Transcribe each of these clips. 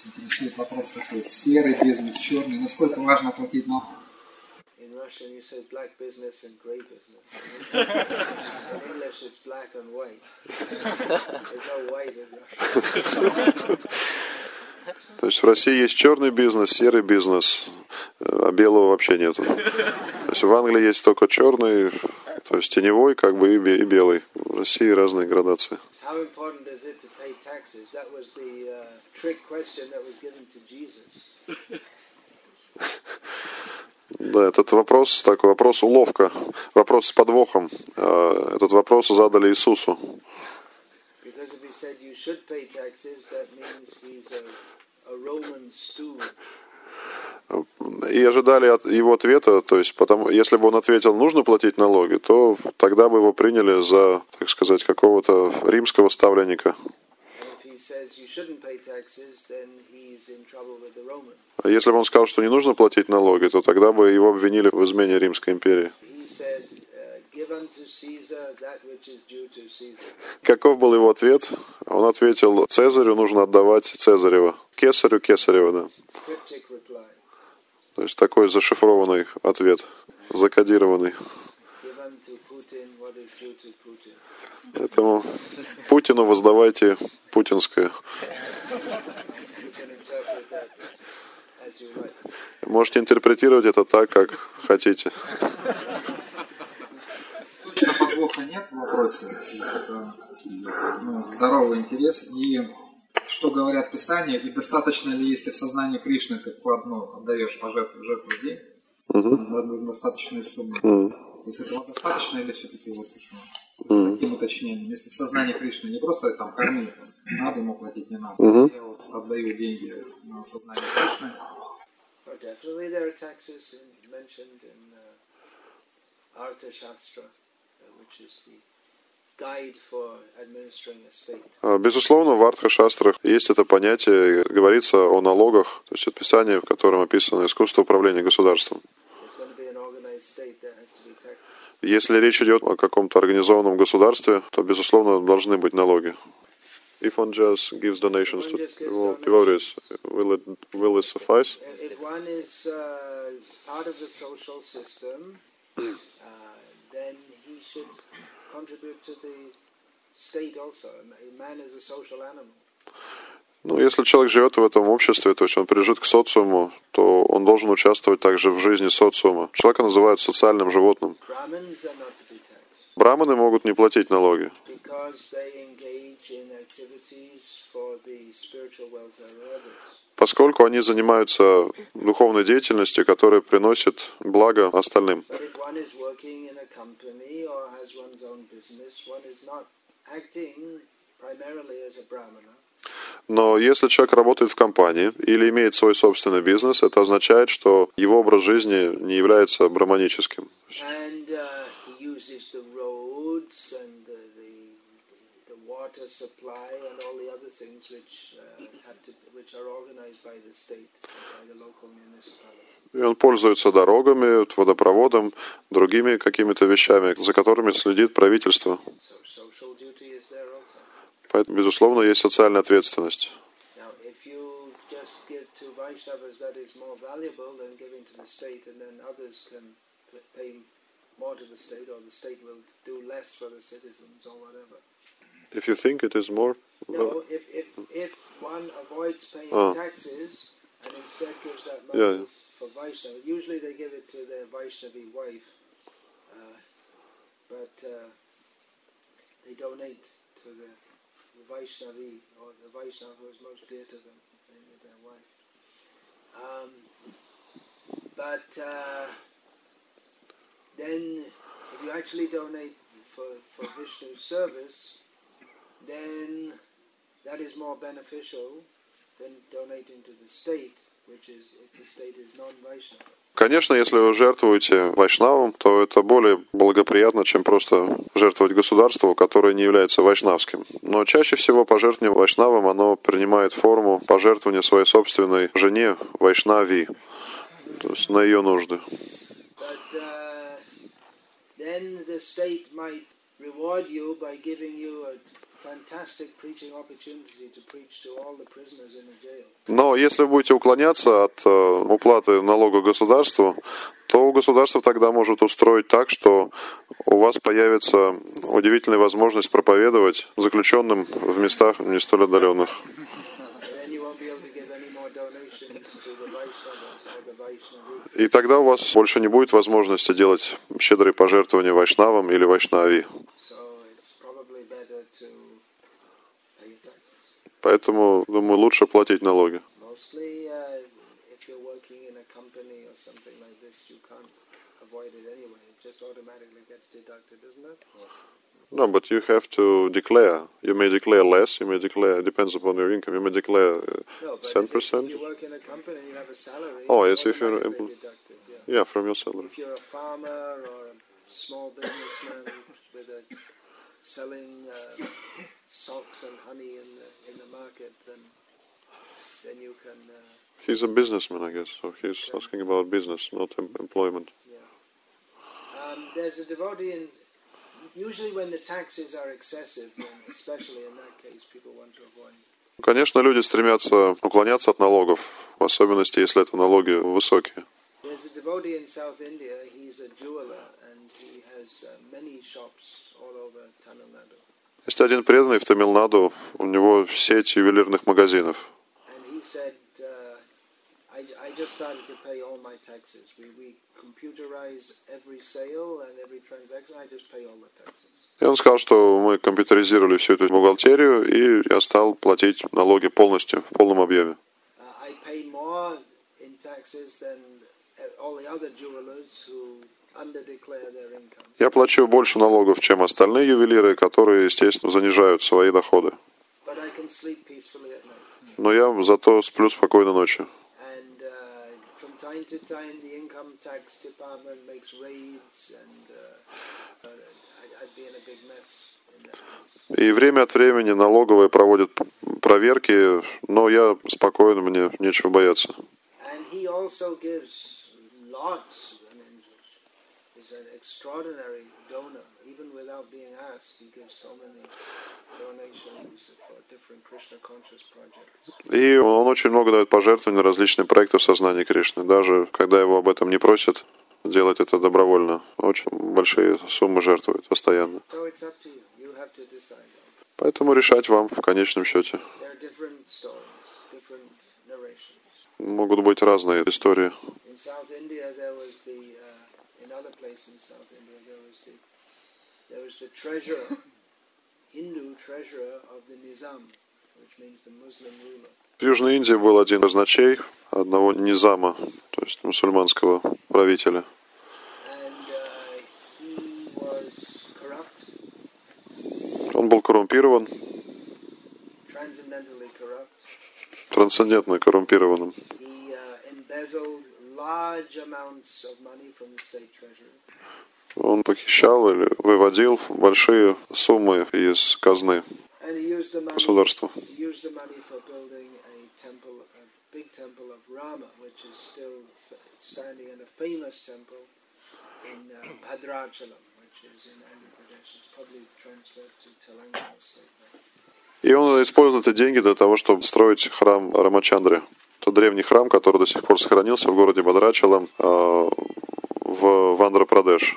Интересует вопрос такой: серый бизнес, черный. Насколько важно платить налоги? In Russian you say black business and grey business. In English it's black and white. There's no white in Russian. То есть в России есть черный бизнес, серый бизнес, а белого вообще нету. То есть в Англии есть только черный, то есть теневой, как бы, и белый. В России разные градации. How important is it to pay taxes? That was the trick question that was given to Jesus. Да, этот вопрос, такой вопрос уловка, вопрос с подвохом. Этот вопрос задали Иисусу. Because if he said you should pay taxes, that means he's a Roman steward. И ожидали от его ответа, то есть, если бы он ответил, нужно платить налоги, то тогда бы его приняли за, так сказать, какого-то римского ставленника. А если бы он сказал, что не нужно платить налоги, то тогда бы его обвинили в измене Римской империи. Каков был его ответ? Он ответил: Цезарю нужно отдавать Цезарева, Кесарю Кесарева, да. То есть такой зашифрованный ответ, закодированный. Поэтому Путину воздавайте путинское. Можете интерпретировать это так, как хотите. Точно подвоха нет в вопросе. Это здоровый интерес. И что говорят Писания, и достаточно ли, если в сознании Кришны ты отдаешь жертву в день, достаточную сумму. То есть этого достаточно или все-таки с таким уточнением? Если в сознании Кришны не просто там корми, надо ему платить, не надо. Я отдаю деньги на сознание Кришны. Definitely there are taxes mentioned in Artha Shastra, which is the guide for administering a state. Безусловно, в Артха-шастрах есть это понятие, говорится о налогах, то есть описание, в котором описано искусство управления государством. Если речь идет о каком-то организованном государстве, то, безусловно, должны быть налоги. If one just gives donations to devotees, will it suffice? If one is part of the social system, then he should contribute to the state also. A man is a social animal. Ну, если человек живет в этом обществе, то есть он прижит к социуму, то он должен участвовать также в жизни социума. Человека называют социальным животным. Браманы могут не платить налоги, поскольку они занимаются духовной деятельностью, которая приносит благо остальным. Но если человек работает в компании или имеет свой собственный бизнес, это означает, что его образ жизни не является браманическим. И он пользуется дорогами, водопроводом, другими какими-то вещами, за которыми следит правительство. Поэтому, безусловно, есть социальная ответственность. If you think it is more... No, if one avoids paying taxes and instead gives that money for Vaishnava, usually they give it to their Vaishnavi wife, but they donate to the Vaishnavi, or the Vaishnava who is most dear to them, namely their wife. But then, if you actually donate for Vishnu's service, then that is more beneficial than donating to the state, which is, if the state is non-Vaishnava. Конечно, если вы жертвуете вайшнавам, то это более благоприятно, чем просто жертвовать государству, которое не является вайшнавским. Но чаще всего пожертвование вайшнавам, оно принимает форму пожертвования своей собственной жене, вайшнави, то есть на ее нужды. Then the state might reward you by giving you fantastic preaching opportunity to preach to all the prisoners in the jail. Но если вы будете уклоняться от уплаты налога государству, то государство тогда может устроить так, что у вас появится удивительная возможность проповедовать заключенным в местах не столь отдаленных. Then you won't be able to give any more donations to the Vaishnavas or the Vaishnavi. И тогда у вас больше не будет возможности делать щедрые пожертвования вайшнавам или вайшнави. So it's probably better to pay your taxes. Поэтому, думаю, лучше платить налоги. Mostly, if you're working in a company or something like this, you can't avoid it anyway. It just automatically gets deducted, isn't it? No, but you have to declare. You may declare less. You may declare, depends upon your income. You may declare No, but 10%. if you work in a company and you have a salary, Oh, it's yes, if you're automatically deducted, yeah. Yeah, from your salary. If you're a farmer or a small businessman with a selling socks and honey in the market, then you can. He's a businessman, I guess. So he's asking about business, not employment. There's a devotee in. Usually, when the taxes are excessive, then especially in that case, people want to avoid. Конечно, люди стремятся уклоняться от налогов, в особенности, если это налоги высокие. There's a devotee in South India. He's a jeweler, and he has many shops all over Tamil Nadu. Есть один преданный в Тамилнаду, у него сеть ювелирных магазинов. And he said, I just started to pay all my taxes. We computerize every sale and every transaction. I just pay all the taxes. И он сказал, что мы компьютеризировали всю эту бухгалтерию, и я стал платить налоги полностью, в полном объеме. I pay more in taxes than all the other jewelers who underdeclare their income. Я плачу больше налогов, чем остальные ювелиры, которые, естественно, занижают свои доходы. But I can sleep peacefully at night. Но я зато сплю спокойно ночью. And from time to time, the income tax department makes raids, and I'd be in a big mess in that case. И время от времени налоговые проводят проверки, но я спокоен, мне нечего бояться. And he also gives lots. I mean, he's an extraordinary donor. Even without being asked, he gives so many donations for different Krishna conscious projects. И он очень много дает пожертвований на различные проекты в сознании Кришны. Даже когда его об этом не просят, делать это добровольно. Очень большие суммы жертвует постоянно. So it's up to you. You have to decide. Поэтому решать вам в конечном счете. There are different stories, different narrations. Могут быть разные истории. In South India, there was in other places in South India, there was the treasurer, Hindu treasurer of the Nizam, which means the Muslim ruler. В Южной Индии был один из казначей одного низама, то есть мусульманского правителя. And he was corrupt, Он был коррумпирован, transcendentally corrupt. трансцендентно коррумпированным. He embezzled large amounts of money from the state treasury. Он похищал или выводил большие суммы из казны And he used the money, государства. he used the money for building a temple, a big temple of Rama, which is still standing in a famous temple in Bhadrachalam, which is in Andhra Pradesh. It's probably transferred to Telangana state now. И он использовал эти деньги для того, чтобы строить храм Рамачандры. Это древний храм, который до сих пор сохранился в городе Бадрачалам в Андхра-Прадеш.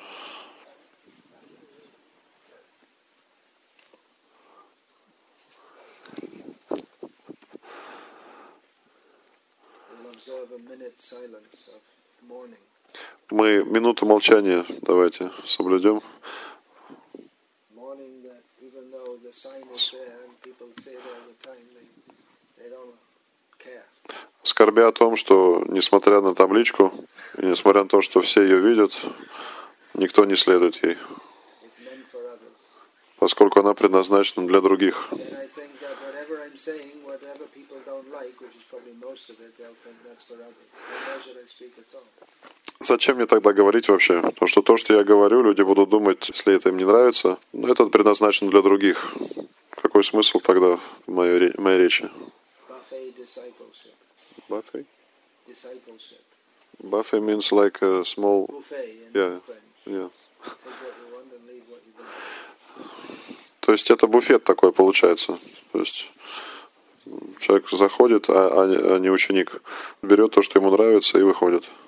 We'll observe a minute's silence of mourning. Мы минуту молчания давайте соблюдем. Mourning that even though the sign is there and people say it all the time, they don't care. Скорбя о том, что несмотря на табличку, и несмотря на то, что все ее видят, никто не следует ей, It's meant for others. поскольку она предназначена для других. And I think that whatever I'm saying, whatever people don't like, which is probably most of it, they'll think that's for others. And why should I speak at all? Зачем мне тогда говорить вообще? Потому что то, что я говорю, люди будут думать, если это им не нравится, но это предназначено для других. Какой смысл тогда в моей речи? Buffet discipleship. Buffet? Discipleship. Buffet means like a small... Buffet in Yeah. French. Yeah. Take what you want and leave what you don't. То есть это буфет такой получается. То есть человек заходит, а не ученик. Берет то, что ему нравится, и выходит.